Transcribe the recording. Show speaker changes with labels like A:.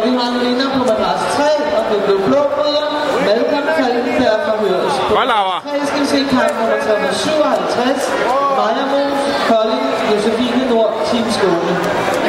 A: Og vi har en vinder på madras 3, og det blev blå bryder. Malcolm Falkenberg fra Hørs.
B: Godt, Laura.
A: 3 skal vi se kamp nummer 357. Maja Mos, Kolding, Josefine Nord, Team Skåne.